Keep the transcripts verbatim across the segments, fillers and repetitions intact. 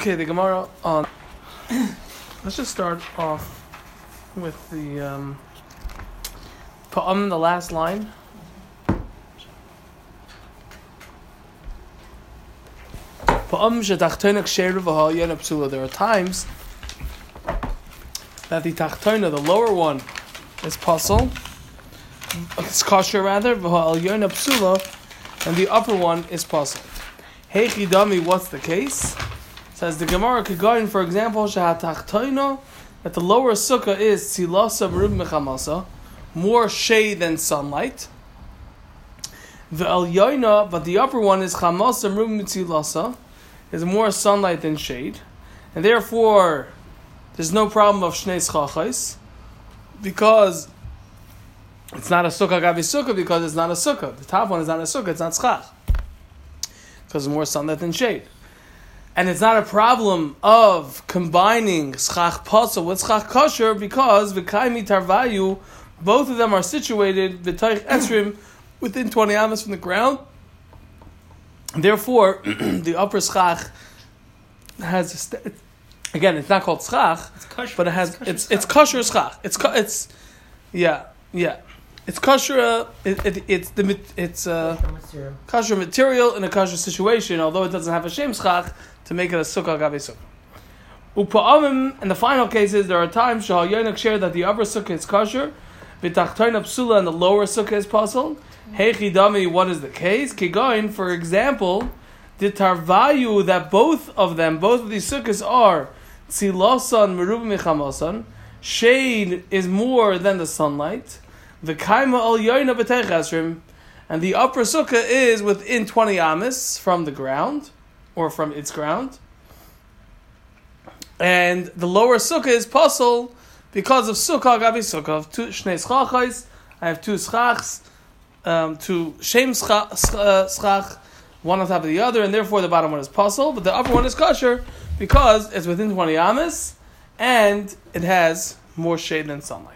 Okay, the Gemara on. Let's just start off with the um, Pa'am, the last line. Pa'am shetachtoina ksheru v'ha'alyon psula. There are times that the tachtona, the lower one, is pasul. It's kosher rather, v'ha'alyon psula, and the upper one is pasul. Hey chidami, what's the case? Says the Gemara Kegoyin, for example, shehatachtoina, that the lower sukkah is tzilasa merub mechamasa, more shade than sunlight. V'alyoina, but the upper one is chamasa merub mitzilasa, is more sunlight than shade, and therefore there's no problem of shnei schachos, because it's not a sukkah gavi sukkah, because it's not a sukkah. The top one is not a sukkah, it's not schach, because it's more sunlight than shade. And it's not a problem of combining schach pasel with schach kosher, because v'kaimi tarvayu, both of them are situated v'taich esrim, within twenty amas from the ground. Therefore, the upper schach has a st- again. It's not called schach, it's kosher, but it has it's it's kosher it's, it's kosher schach. It's it's yeah yeah. It's kosher. Uh, it, it, it's the it's uh, material. kosher material in a kosher situation, although it doesn't have a shem schach to make it a sukkah gabe sukkah. Upa'amim, in the final cases, there are times shahal yonik share that the upper sukkah is kosher, v'tachtoina psula, and the lower sukkah is pasul. Hey chidami, what is the case? Kigoin, for example, the tarvayu, that both of them, both of these sukkahs are tzilasan merub mechamasan, shade is more than the sunlight. The kaima al yoina b'teich esrim, and the upper sukkah is within twenty amis from the ground, or from its ground, and the lower sukkah is pasul because of sukkah gabi sukkah. Two shnei schachos, I have two schachs, um, two shem schach, schach, one on top of the other, and therefore the bottom one is pasul, but the upper one is kosher because it's within twenty amis and it has more shade than sunlight.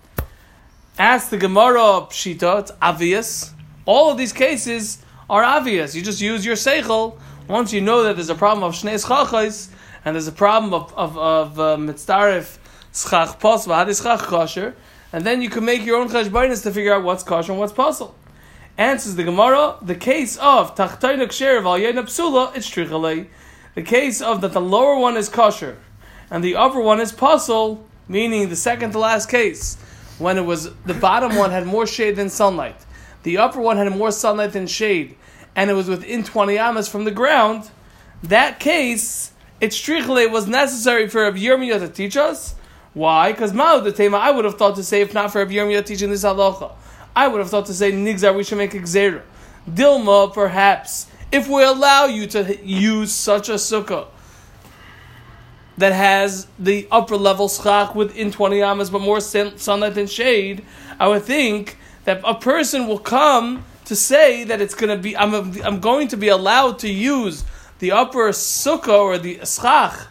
Ask the Gemara Pshita, it's obvious. All of these cases are obvious. You just use your seichel. Once you know that there's a problem of shnei schachos and there's a problem of of of mitzdarif schach pas v'hadis schach kosher, and then you can make your own cheshbonos to figure out what's kosher and what's pasul. Answers the Gemara: the case of tachtoina ksher v'alyoina psula, it's trichalei. The case of that the lower one is kosher and the upper one is pasul, meaning the second to last case, when it was the bottom one had more shade than sunlight, the upper one had more sunlight than shade, and it was within twenty amas from the ground. That case, its strichle was necessary for Rabbi Yirmiyah to teach us. Why? Because Ma'u the Tema, I would have thought to say, if not for Rabbi Yirmiyah teaching this halacha, I would have thought to say, Nigzar, we should make a gzera. Dilma, perhaps, if we allow you to use such a sukkah that has the upper level schach within twenty amas, but more sunlight than shade, I would think that a person will come to say that it's going to be, I'm, I'm going to be allowed to use the upper sukkah or the schach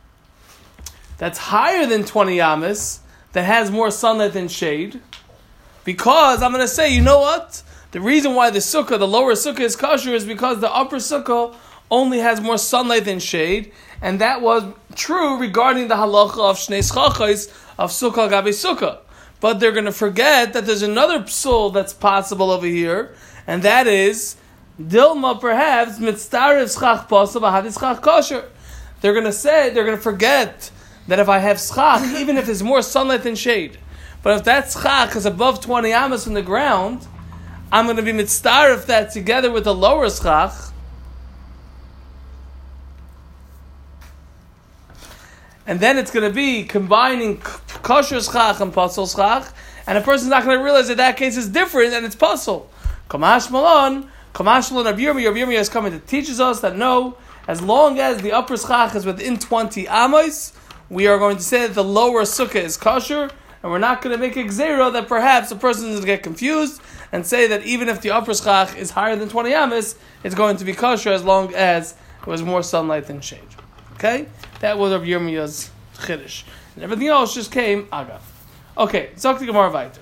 that's higher than twenty amas, that has more sunlight than shade, because I'm going to say, you know what? The reason why the sukkah, the lower sukkah is kosher, is because the upper sukkah only has more sunlight than shade, and that was true regarding the halacha of shnei schachos of sukkah gabe sukkah. But they're going to forget that there's another psul that's possible over here, and that is Dilma, perhaps mitzdarif schach pasal v'hadis schach kosher. They're going to say, they're going to forget that if I have schach, even if there's more sunlight than shade, but if that schach is above twenty amas from the ground, I'm going to be mitzdarif that together with the lower schach, and then it's going to be combining kosher schach and pasul schach, and a person's not going to realize that that case is different and it's pasul. Kamash malon, kamash malon, Rabbi Yirmiyah, Rabbi Yirmiyah is coming to teaches us that no, as long as the upper schach is within twenty amos, we are going to say that the lower sukkah is kosher, and we're not going to make a gzera that perhaps a person is going to get confused and say that even if the upper schach is higher than twenty amos, it's going to be kosher as long as it was more sunlight than shade. Okay? That was Rabbi Yirmiyah's chiddush. And everything else just came agav. Okay, Zok the Gemara weiter.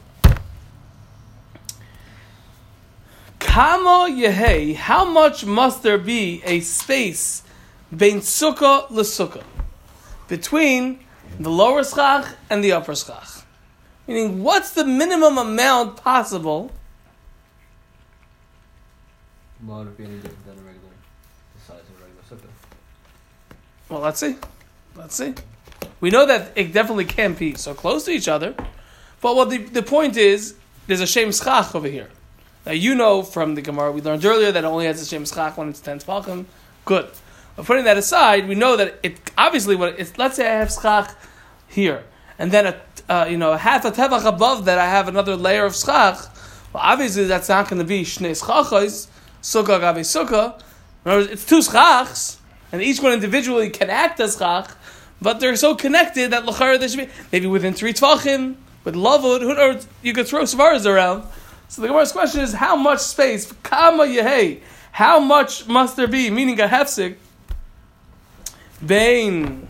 Kamo Yehei, how much must there be a space bein sukkah lesukkah, between the lower schach and the upper schach. Meaning, what's the minimum amount possible? Well, it'd be any different than a regular, the size of a regular sukkah. Well, let's see. Let's see. We know that it definitely can't be so close to each other. But what the, the point is, there's a shem schach over here. Now, you know from the Gemara, we learned earlier that it only has a shem schach when it's ten tefachim. Good. But putting that aside, we know that it obviously, what it's, let's say I have schach here, and then a, uh, you know, half a tefach above that I have another layer of schach. Well, obviously that's not going to be shnei schachos, sukkah gavi sukkah. In other words, it's two schachs, and each one individually can act as schach, but they're so connected that l'chara they should be maybe within three tvachim, with lavud, who knows, you could throw svaras around. So the Gemara's question is, how much space, kama yehei, how much must there be, meaning a hefsek, bein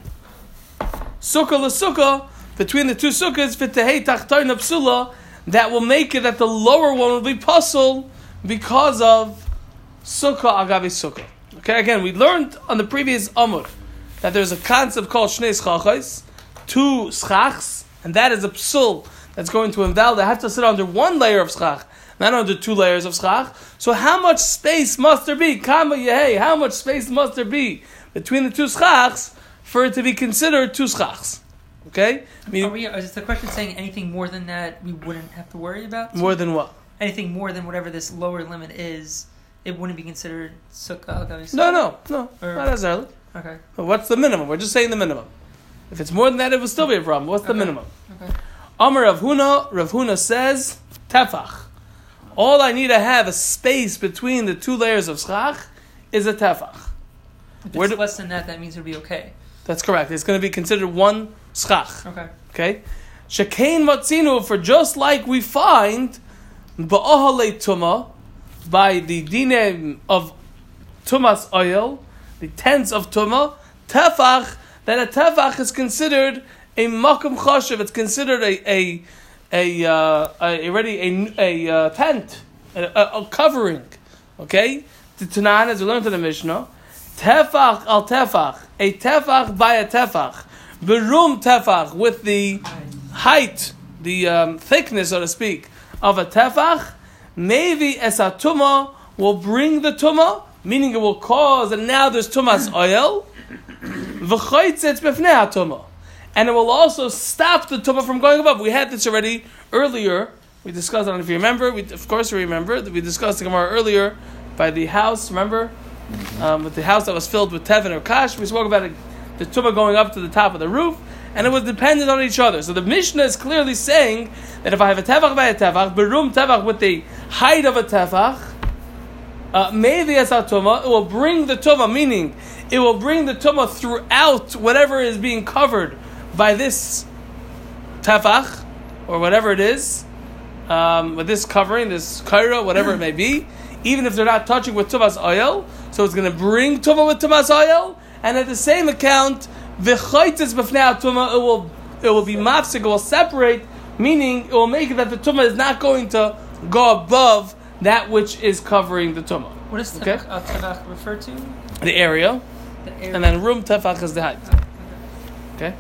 sukkah l'sukkah, between the two sukkahs, v'tehei tachtoina psula, that will make it that the lower one will be puzzle because of sukkah agavi sukkah. Okay, again, we learned on the previous amud that there's a concept called shnei schachos, two schachs, and that is a psul that's going to invalidate. I have to sit under one layer of schach, not under two layers of schach. So how much space must there be? Kama yehei, how much space must there be between the two schachs for it to be considered two schachs? Okay? I mean, Are we, is the question saying anything more than that we wouldn't have to worry about? More than what? Anything more than whatever this lower limit is, it wouldn't be considered sukkah? No, no, no, or, not necessarily. Okay. But what's the minimum? We're just saying the minimum. If it's more than that, it would still be a problem. What's the okay. minimum? Okay. Amar Rav Huna, Rav Huna says, tefach. All I need to have a space between the two layers of schach is a tefach. If Where it's do, less than that, that means it would be okay. That's correct. It's going to be considered one schach. Okay. Okay? Shekain matzinu, for just like we find ba'ahalei tuma, by the dinem of tumas oil, the tents of tuma, tefach, that a tefach is considered a makom choshev. It's considered a a a, uh, a already a a uh, tent, a, a, a covering. Okay, the Tanan, as we learned in the Mishnah, tefach al tefach, a tefach by a tefach, berum tefach, with the height, the um, thickness, so to speak, of a tefach. Maybe esa tuma will bring the tuma, meaning it will cause, and now there's tumas oil. V'chaitzet b'fnei tuma, and it will also stop the tuma from going above. We had this already earlier. We discussed, I don't know if you remember. We, of course, we remember that we discussed the Gemara earlier by the house. Remember, um, with the house that was filled with tevin or kash. We spoke about it, the tuma going up to the top of the roof, and it was dependent on each other. So the Mishnah is clearly saying that if I have a tefach by a tefach, berum tefach with the height of a tefach, uh, maybe as a tuma, it will bring the tuma, meaning it will bring the tuma throughout whatever is being covered by this tefach, or whatever it is, um, with this covering, this kaira, whatever it may be, even if they're not touching with tumas oil. So it's going to bring tuma with tumas oil, and at the same account, v'chaitis b'fnei tuma, it will it will be mafsik, it will separate, meaning it will make it that the tuma is not going to go above that which is covering the tuma. What does okay? tefach, uh, tefach refer to? The area. The area. And then room tefach is the height. Okay?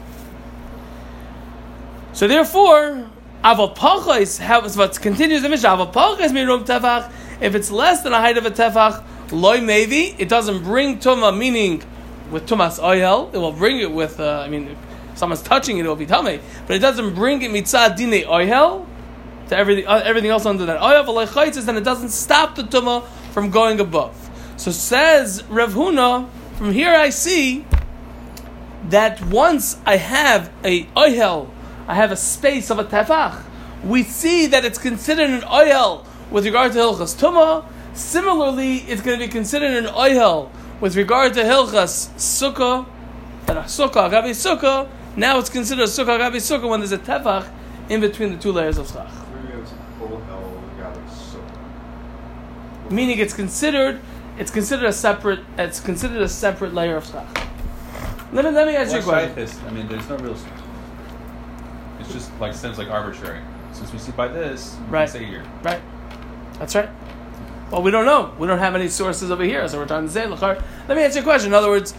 So therefore, aval pachos, how what continues the Mishnah, aval pachos mi room tefach, if it's less than a height of a tefach, loy maybe, it doesn't bring tuma, meaning with tumas oil, it will bring it with, uh, I mean, if someone's touching it, it will be tamei, but it doesn't bring it mitzad dine oil, to everything, uh, everything else under that oil, then it doesn't stop the tuma from going above. So says Rav Huna, from here I see that once I have a oil, I have a space of a tefach, we see that it's considered an oil with regard to Hilchas Tumah. Similarly, it's going to be considered an oil with regard to Hilchas Sukkah, and a Sukkah, Agavi Sukkah. Now it's considered a Sukkah, Agavi Sukkah when there's a tefach in between the two layers of schach. Meaning it's considered, it's considered a separate, it's considered a separate layer of schach. Let me let me ask you a question. This, I mean, there's no real. It's just like seems like arbitrary. Since we see by this, we right. can say here. Right. That's right. Well, we don't know. We don't have any sources over here, so we're trying to say. Let me answer your question. In other words,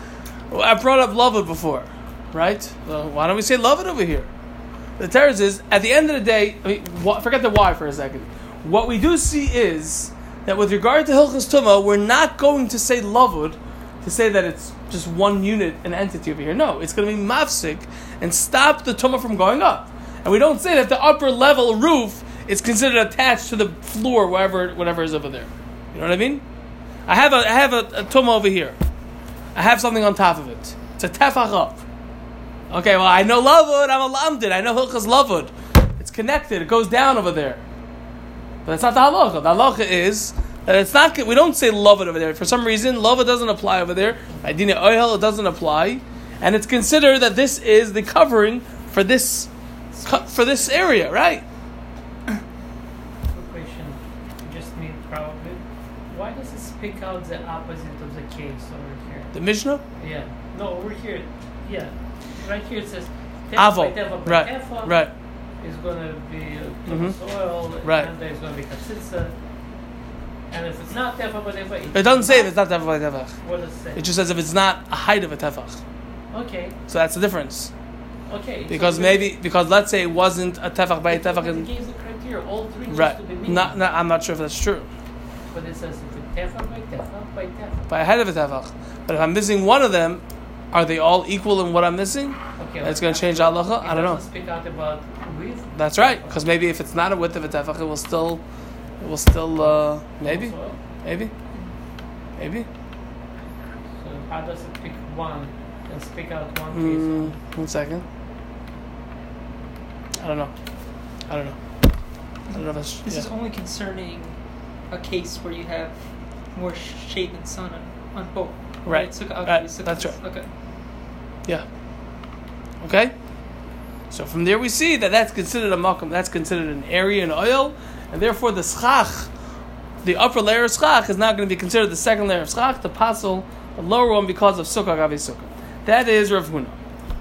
Well, I brought up Lavud before, right? So why don't we say Lavud over here? The Teretz is, at the end of the day, I mean, wh- forget the why for a second. What we do see is that with regard to Hilchas Tumah, we're not going to say Lavud to say that it's just one unit, an entity over here. No, it's going to be mafsik and stop the Tumah from going up. And we don't say that the upper level roof is considered attached to the floor, wherever, whatever is over there. You know what I mean? I have a, I have a, a Tumah over here. I have something on top of it. It's a tefach up. Okay, well, I know Lavud, I'm a lamdid, I know Hilchas Lavud. It's connected, it goes down over there. But that's not the halacha. The halacha is that it's not, we don't say Lavud over there. For some reason, Lavud doesn't apply over there. Idina Oyel, it doesn't apply. And it's considered that this is the covering for this for this area, right? Quick question, just me probably. Why does it speak out the opposite of the case over here? The Mishnah? Yeah. No, over here. Yeah. Right here it says Avo. Tefa by Right. Tefa Right. is going to be uh, Mhm. Tumas oil, Right. and there's going to be Katsitsa. And if it's not Tefa by Tefa, It doesn't say if it's not tefach by tefach. What does it say? It just says if it's not a height of a tefach. Okay. So that's the difference. Okay. Because so maybe, because let's say it wasn't a tefach by a tefach. It And, gives the criteria, all three needs right. to be mean. Not, not, I'm not sure if that's true. But it says if it's Tefa by Tefa by Tefa. By a head of a tefach. But if I'm missing one of them, are they all equal in what I'm missing? Okay. It's going to change halacha? I don't know. It doesn't speak out about width. That's right. Because maybe if it's not a width of a tefach, it will still, it will still, uh, maybe, Also, maybe, maybe. So how does it pick one and speak out one Mm, case? one second. I don't know. I don't know. I don't know if that's. This yeah. is only concerning a case where you have more shade than sun on, on both. Right. So, okay, Right. so- That's right. Okay. Yeah. Okay. So from there we see that that's considered a makom. That's considered an area in oil, and therefore the schach, the upper layer of schach, is not going to be considered the second layer of schach. The pasel, the lower one, because of sukkah gavi sukkah. That is Rav Huna.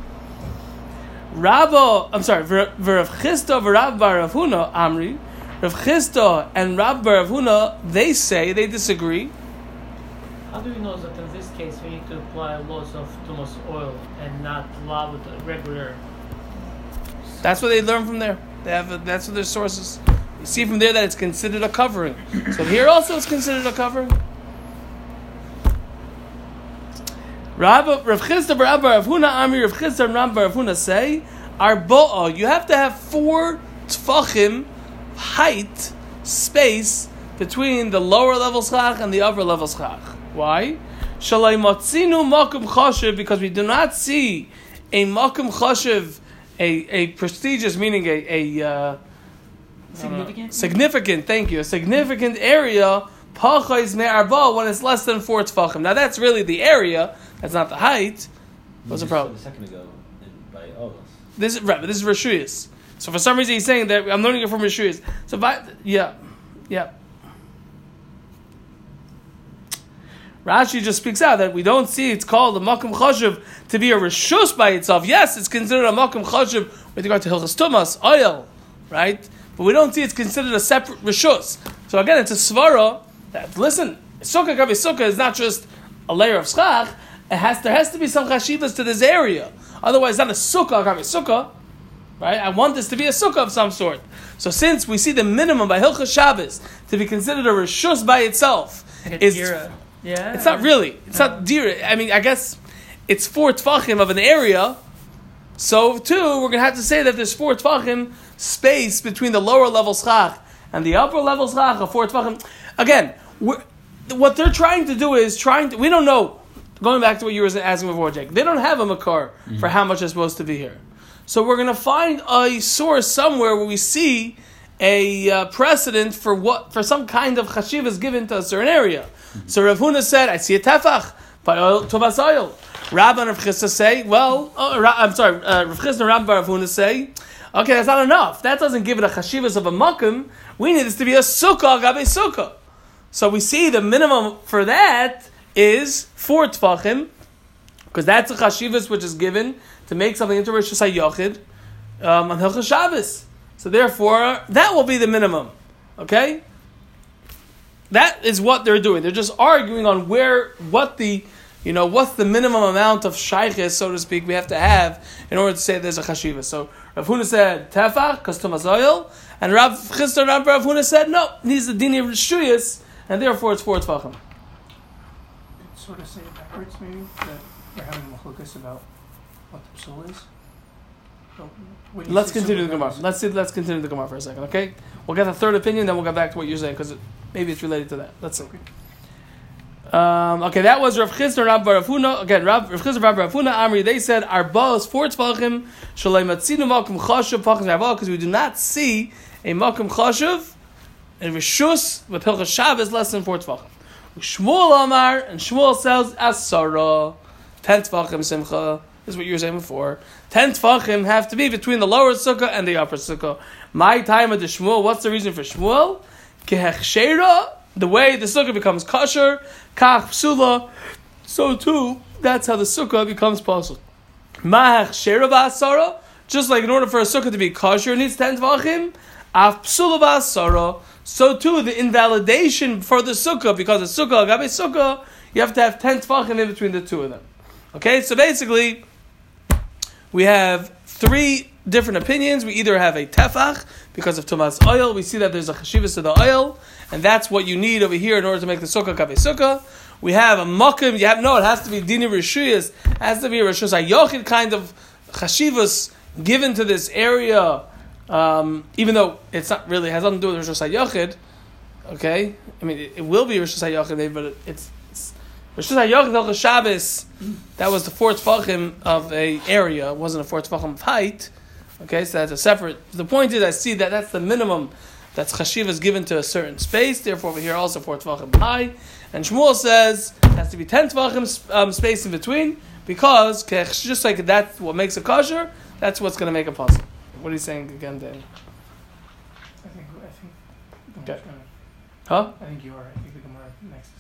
Rabbo, I'm sorry, Rav Chisda v'Rav Bar Rav Huna Amri, Rav Chisda and Rav Bar Rav Huna, they say, they disagree. How do we know that in this case we need to apply laws of Tumas oil and not law with the regular? That's what they learn from there. They have a, that's what their sources. You see from there that it's considered a covering. So here also it's considered a covering. Rav Rav Chisda Rav Bar Rav Huna Amri Rav Chisda and Rav Bar Rav Huna say, Arbo'a, you have to have four tfachim height space between the lower level schach and the upper level schach. Why? Shalai matzinu makom chashiv, because we do not see a makom chashiv, a a prestigious, meaning a a uh, Significant? significant. Thank you. A significant area. Pachais me'arba, when it's less than four tfachim. Now that's really the area. That's not the height. What's the problem? A second ago in, by Olos. This is right, but this is Rishuyas. So for some reason he's saying that I'm learning it from Rishuyas. So by, yeah, yeah. Rashi just speaks out that we don't see it's called a makom chashuv to be a rishus by itself. Yes, it's considered a makom chashuv with regard to hilchas tumas, oil, right? But we don't see it's considered a separate rishus. So again, it's a svara that, listen, sukkah gabi sukkah is not just a layer of schach. It has there has to be some chashivas to this area. Otherwise, it's not a sukkah gabi sukkah, right? I want this to be a sukkah of some sort. So since we see the minimum by hilchas Shabbos to be considered a rishus by itself, Like a is dira. Yeah. it's not really. It's not deer. I mean, I guess it's four tfachim of an area. So too, we're gonna have to say that there's four tfachim space between the lower level schach and the upper level schach of four tfachim. Again, we're, what they're trying to do is trying to. We don't know. Going back to what you were asking before, Jake, they don't have a makar mm-hmm. for how much is supposed to be here. So we're gonna find a source somewhere where we see a uh, precedent for what for some kind of chashiv is given to a certain area. So Rav Huna said, I see a tefach by oil, Tuvas oil. Rabbi and Rav Chisda say, well, oh, Ra- I'm sorry, uh, Rav Chisda and Rabbi Rav Huna say, okay, that's not enough. That doesn't give it a chashivas of a makom. We need this to be a sukkah, gabe sukkah. So we see the minimum for that is four tfachim, because that's a chashivas which is given to make something into Rosh Hashanah um, on Hilchas Shabbos. So therefore, that will be the minimum. Okay? That is what they're doing. They're just arguing on where, what the you know, what's the minimum amount of shaykhis, so to speak, we have to have in order to say there's a chashiva. So Rav Huna said tefach, because tumas oil, and Rav Chisda Rav Rav Huna said no, needs the dini of rishuyas, and therefore it's four tefachim. Sort of say it backwards, maybe that we're having a machlokas about what the psul is. So when you Let's say continue the sukkah, Gemara. Let's see. Let's continue the Gemara for a second, okay? We'll get the third opinion, then we'll get back to what you're saying because it, maybe it's related to that. Let's see. Um, okay, that was Rav Chisda Rav Rav Huna. Again, Rav Rav Chisda Rav Rav Huna Amri. They said our boss four tefachim shalei matzinu makom chashuv pachim zayavah because we do not see a makom chashuv and rishus with hilchas Shabbos less than four tefachim. Shmuel Amar and Shmuel says asara ten tefachim simcha. This is what you were saying before. Ten tefachim have to be between the lower sukkah and the upper sukkah. My time of the Shmuel. What's the reason for Shmuel? Kehechsheira. The way the sukkah becomes kosher, kach psula, so too, that's how the sukkah becomes possible. Ma'ach shera ba'asara, just like in order for a sukkah to be kosher, it needs ten tvachim, af psula ba'asara, so too, the invalidation for the sukkah, because the sukkah, agabe sukkah, you have to have ten tvachim in between the two of them. Okay, so basically, we have three different opinions. We either have a tefach, because of tumas oil, we see that there's a chashivas to the oil, and that's what you need over here in order to make the sukkah kabe sukkah. We have a makim. You have no. It has to be dini rishuyas. It has to be a rishus hayochid kind of chashivas given to this area, um, even though it's not really has nothing to do with rishus hayochid. Okay, I mean it, it will be rishus hayochid, but it, it's, it's rishus hayochid hilchos Shabbos. That was the four tefachim of a area. It wasn't a four tefachim of height. Okay, so that's a separate. The point is, I see that that's the minimum. That's chashiva is given to a certain space. Therefore, over here also four tvachim high. And Shmuel says it has to be ten tvachim um, space in between because just like that's what makes a kosher. That's what's going to make a puzzle. What are you saying again, Dan? I think I think. Okay. Huh? I think you are. I think the Gemara next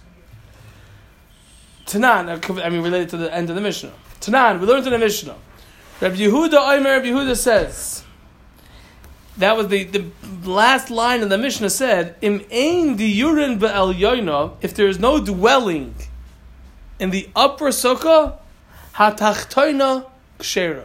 is going to Tanan. I mean, related to the end of the Mishnah. Tanan. We learned in the Mishnah. Rabbi Yehuda Omer. Rabbi Yehuda says. That was the, the last line in the Mishnah said, Im ein diyurin be'el yoina, if there is no dwelling in the upper sukkah, hatachtoina kshera.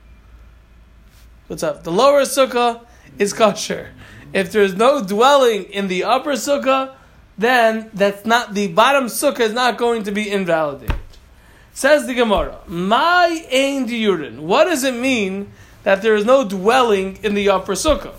What's up? The lower sukkah is kosher. If there is no dwelling in the upper sukkah, then that's not the bottom sukkah is not going to be invalidated. Says the Gemara, my ein diyurin. What does it mean that there is no dwelling in the upper sukkah?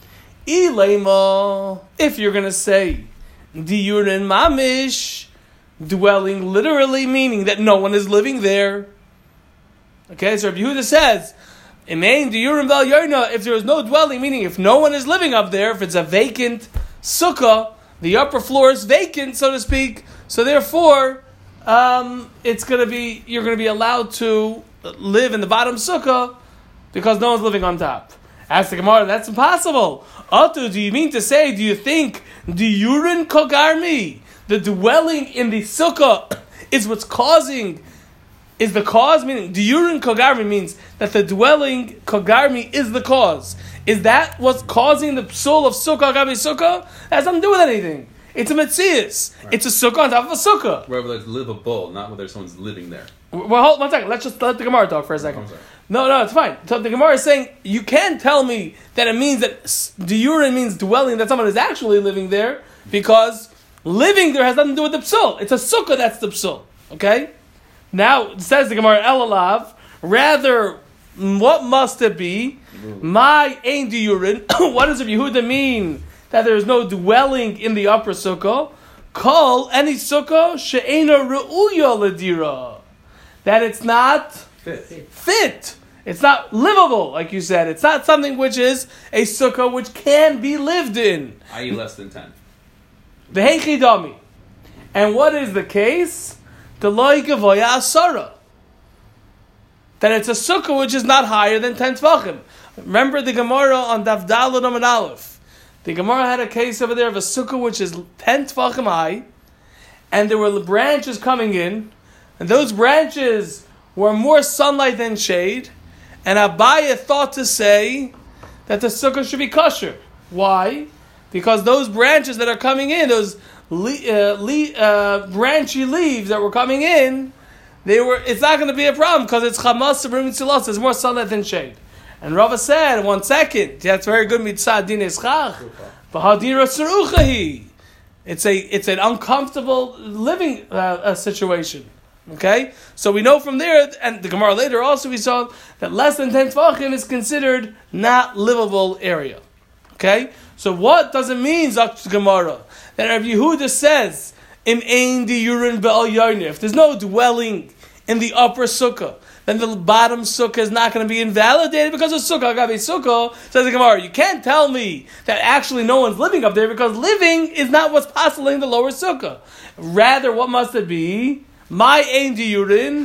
Ilema, if you're going to say diyurin mamish, dwelling literally meaning that no one is living there. Okay, so Rabbi Yehuda says, Imein diyurin vel yoina, if there is no dwelling, meaning if no one is living up there, if it's a vacant sukkah, the upper floor is vacant, so to speak, so therefore, um, it's going to be, you're going to be allowed to live in the bottom sukkah, because no one's living on top. Ask the Gemara, that's impossible. Atu, do you mean to say, do you think the urine kogarmi, the dwelling in the sukkah, is what's causing, is the cause? Meaning, the urine kogarmi means that the dwelling kogarmi is the cause. Is that what's causing the psul of sukkah gabi sukkah? That has nothing to do with anything. It's a metzius. Right. It's a sukkah on top of a sukkah. Wherever it's livable, not whether someone's living there. Well, hold one second. Let's just let the Gemara talk for a second. Oh, no, no, it's fine. So the Gemara is saying, you can't tell me that it means that diurin means dwelling, that someone is actually living there, because living there has nothing to do with the psul. It's a sukkah that's the psul. Okay? Now, says the Gemara, Elalav, rather, what must it be? My ein diurin. What does Rabbi Yehuda mean that there is no dwelling in the upper sukkah? Call any sukkah she'ena re'uya ledira. That it's not fit. fit. It's not livable, like you said. It's not something which is a sukkah which can be lived in. that is less than ten. The heichidami. And what is the case? The loy gavoya asara. That it's a sukkah which is not higher than ten tvachim. Remember the Gemara on Daf Daled Amud Aleph. The Gemara had a case over there of a sukkah which is ten tvachim high, and there were branches coming in, and those branches were more sunlight than shade, and Abaye thought to say that the sukkah should be kosher. Why? Because those branches that are coming in, those le- uh, le- uh, branchy leaves that were coming in, they were. It's not going to be a problem because it's chamas b'rim tzilos. There's more sunlight than shade. And Rava said, one second, that's very good mitzad din eschach, but hadira tzeruchahi. It's a it's an uncomfortable living uh, uh, situation. Okay, so we know from there, and the Gemara later also we saw that less than ten tvachim is considered not livable area. Okay, so what does it mean, Zok Gemara, that Rav Yehuda says im ein diurin be'al yarnir? If there's no dwelling in the upper sukkah, then the bottom sukkah is not going to be invalidated because of sukkah. Agabe sukkah, says the Gemara, you can't tell me that actually no one's living up there because living is not what's possible in the lower sukkah. Rather, what must it be? My ein diurin,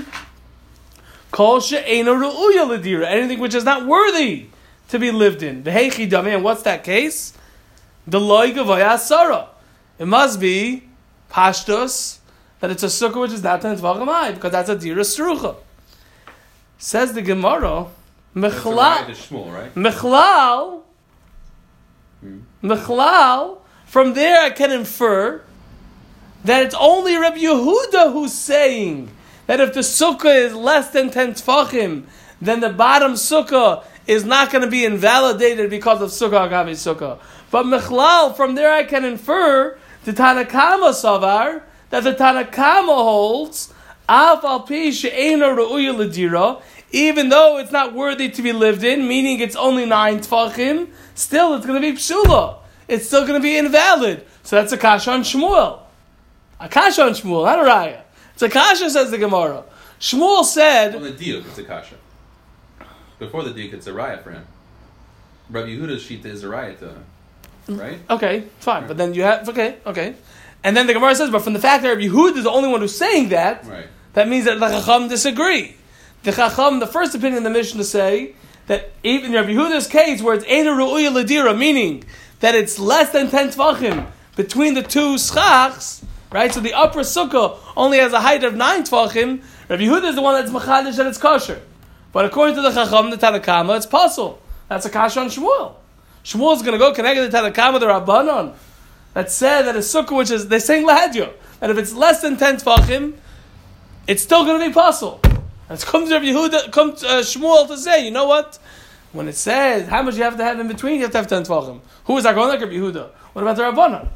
kol she'eino ru'uya l'dira, anything which is not worthy to be lived in. V'heichi damei, and what's that case? The loy gavaya asara. It must be pashtus, that it's a sukkah which is not ten tvachim high, because that's a dira srucha. Says the Gemara, Mechlal, right? Mechlal, Hmm. Mechlal, from there I can infer that it's only Rabbi Yehuda who's saying that if the sukkah is less than ten tfachim, then the bottom sukkah is not going to be invalidated because of sukkah agavi sukkah. But Mechlal, from there I can infer the Tanakama Savar, that the Tanakama holds Af al pi she'eino ru'uya l'dira, even though it's not worthy to be lived in, meaning it's only nine tfachim, still it's going to be psula. It's still going to be invalid. So that's a kasha on Shmuel. A kasha on Shmuel, not a raya. It's a kasha, says the Gemara. Shmuel said... On the diuk, it's a kasha. Before the diuk, it's a raya for him. Rabbi Yehuda's shita is a raya to him. Right? Okay, fine. But then you have... Okay, okay. And then the Gemara says, but from the fact that Rabbi Yehuda is the only one who's saying that, Right. that means that the Chacham disagree. The Chacham, the first opinion in the Mishnah say that even Rabbi Yehuda's case, where it's Eina Ru'uya L'dira, meaning that it's less than ten tvachim between the two schachs, right? So the upper sukkah only has a height of nine tvachim. Rabbi Yehuda is the one that's machadish that it's kosher. But according to the Chacham, the Tanakama, it's pasul. That's a kasha on Shmuel. Shmuel is going to go connect the Tanakama, the Rabbanon, that said that a sukkah which is, they're saying lahadyo, that if it's less than ten tvachim, it's still going to be pasul. And it's come to Rabbi Yehuda, come to uh, Shmuel to say, you know what? When it says how much you have to have in between, you have to have ten tvachim. Who is that going like Rabbi Yehuda? What about the Rabbanon?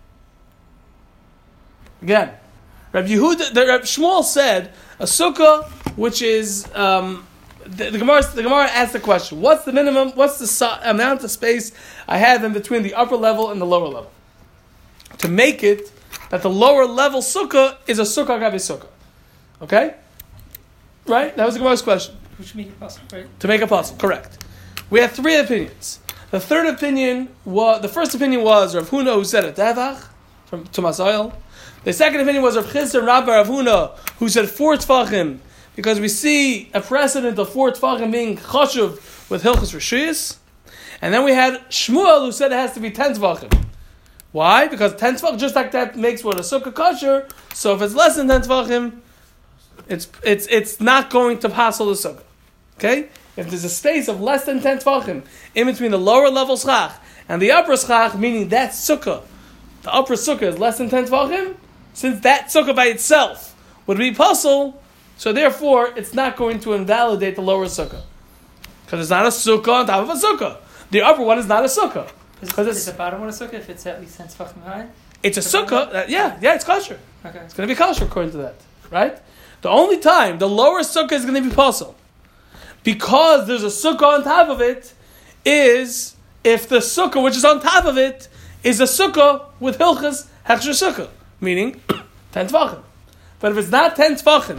Again, Rabbi Yehuda, the Rabbi Shmuel said a sukkah which is um, the, the Gemara. The Gemara asked the question: what's the minimum? What's the so, amount of space I have in between the upper level and the lower level to make it that the lower level sukkah is a sukkah gabi sukkah? Okay, right? That was the Gemara's question. Which make it possible, right? To make a puzzle, correct. We have three opinions. The third opinion was the first opinion was Rav Huna, who said a tevach from Tumas Oil. The second opinion was Rav Chisda and Rabbi Rav Huna, who said four tefachim, because we see a precedent of four tefachim being chashuv with hilchos rishuyos. And then we had Shmuel, who said it has to be ten tefachim. Why? Because ten tefachim, just like that, makes what a sukkah kosher. So if it's less than ten tefachim, it's it's it's not going to passel the sukkah. Okay? If there's a space of less than ten tefachim in between the lower level schach and the upper schach, meaning that sukkah, the upper sukkah is less than ten tefachim, since that sukkah by itself would be puzzle, so therefore it's not going to invalidate the lower sukkah. Because it's not a sukkah on top of a sukkah. The upper one is not a sukkah. Because it's the bottom one a sukkah if it's at least ten tefachim high? It's a sukkah, that, yeah, yeah, it's kosher. Okay. It's going to be kosher according to that, right? The only time the lower sukkah is going to be puzzle, because there's a sukkah on top of it, is if the sukkah which is on top of it is a sukkah with hilchas hechsher sukkah, meaning ten tefachim. But if it's not ten tefachim,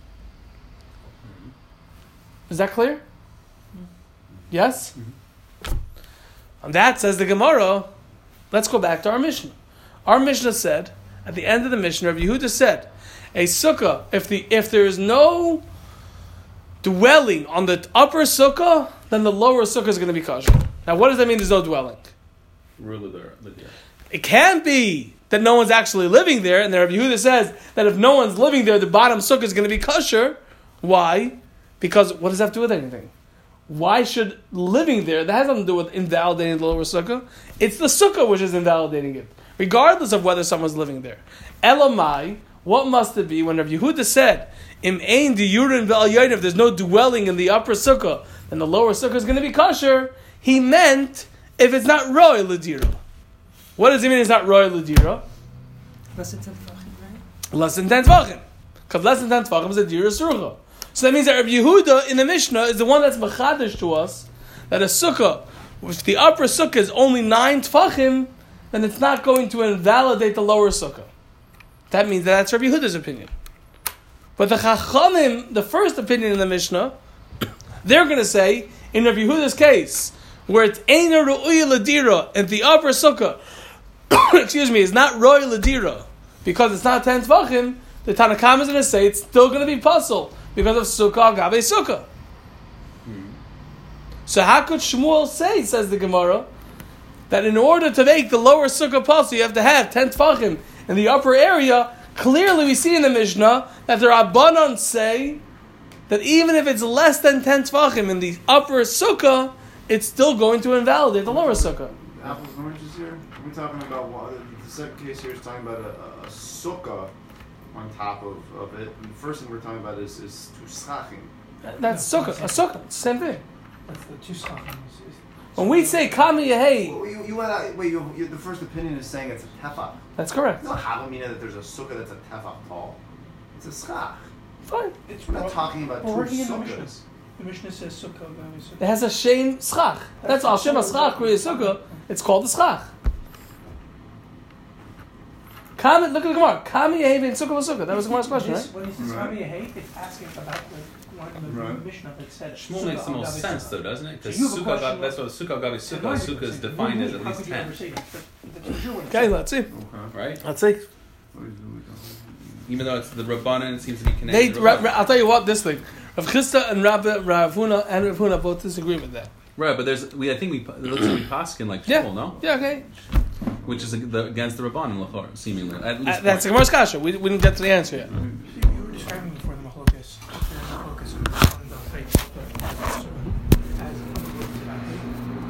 is that clear? Yes? Mm-hmm. And that says the Gemara. Let's go back to our Mishnah. Our Mishnah said, at the end of the Mishnah, Rabbi Yehuda said, a sukkah, if the if there is no dwelling on the upper sukkah, then the lower sukkah is going to be kosher. Now, what does that mean? There's no dwelling. Rule of the Lydia. It can be that no one's actually living there, and the Rabbi Yehuda says that if no one's living there, the bottom sukkah is going to be kosher. Why? Because what does that have to do with anything? Why should living there, that has nothing to do with invalidating the lower sukkah. It's the sukkah which is invalidating it, regardless of whether someone's living there. Elamai, what must it be when Rabbi Yehuda said, Im ein diyurin ve'al yoyin, if there's no dwelling in the upper sukkah, then the lower sukkah is going to be kosher. He meant if it's not roy l'dira. What does it mean it's not roy l'dira? Less than ten tvachim, right? Less than ten tvachim. Because less than ten tvachim is a dira surcha. So that means that Rabbi Yehuda in the Mishnah is the one that's machadish to us that a sukkah, if the upper sukkah is only nine tvachim, then it's not going to invalidate the lower sukkah. That means that that's Rabbi Yehuda's opinion. But the Chachamim, the first opinion in the Mishnah, they're going to say, in Rabbi Yehuda's case, where it's Eina Ru'uya Ladira, and the upper sukkah, excuse me, is not Roy Ladira, because it's not ten Tvachim, the Tanakam is going to say it's still going to be puzzle, because of Sukkah Gabe Sukkah. Hmm. So how could Shmuel say, says the Gemara, that in order to make the lower sukkah puzzle, you have to have ten Tvachim in the upper area? Clearly we see in the Mishnah that the Rabbanon say that even if it's less than ten Tvachim in the upper sukkah, it's still going to invalidate the lower sukkah. Apples and oranges here? We're talking about, what, the second case here is talking about a, a, a sukkah on top of, of it. And the first thing we're talking about is, is two schachim. That's sukkah, a sukkah, it's the same thing. That's the two schachim. When we say Kami Yehei, Well, you, you went out, wait, you, you, the first opinion is saying it's a tefach. that's correct. It's not havamina that there's a sukkah that's a tefach tall. It's a schach. Fine. It's We're not talking about We're two working in the Mishnah. sukkahs. The Mishnah says sukkah, Gabi sukkah. It has a shame schach. That's all. Shem schach, Kriya sukkah. It's called the schach. Kami, look at the Gemara. Kami Yehei vein sukkah v'sukkah. That was the Gemara's question, This- right? When he says Right. Kami Yehei, it's asking about the one in the Right. Mishnah that said Shmuel sukkah makes the al most Gabi sense, sukkah. though, doesn't it? Because So you have a sukkah, question that's what sukkah gabi So sukkah. why Sukkah is say- defined as at how least could you ever ten, say that? But that's what you're gonna Okay, say. let's see. Okay. right? Let's see. Even though it's the Rabbanan, it seems to be They, connected. to Ra, Rabbanan. Ra, I'll tell you what. This thing, Rav Chisda and Rav Rav Huna and Rav Huna both disagree with that. Right, but there's we I think we it looks like we paskin like Yeah. Shmuel, no? Yeah, okay. Which is the, against the Rabbanan Lachor, seemingly. At least Uh, that's the one. Gemara's kasha. We, we didn't get to the answer yet. You you were describing before the Mahlokas. The Mahlokas and the faith.